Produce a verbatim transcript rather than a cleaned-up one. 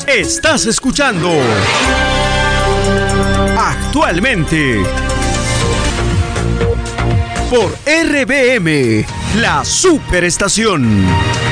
Estás escuchando Actualmente por R B M, la superestación.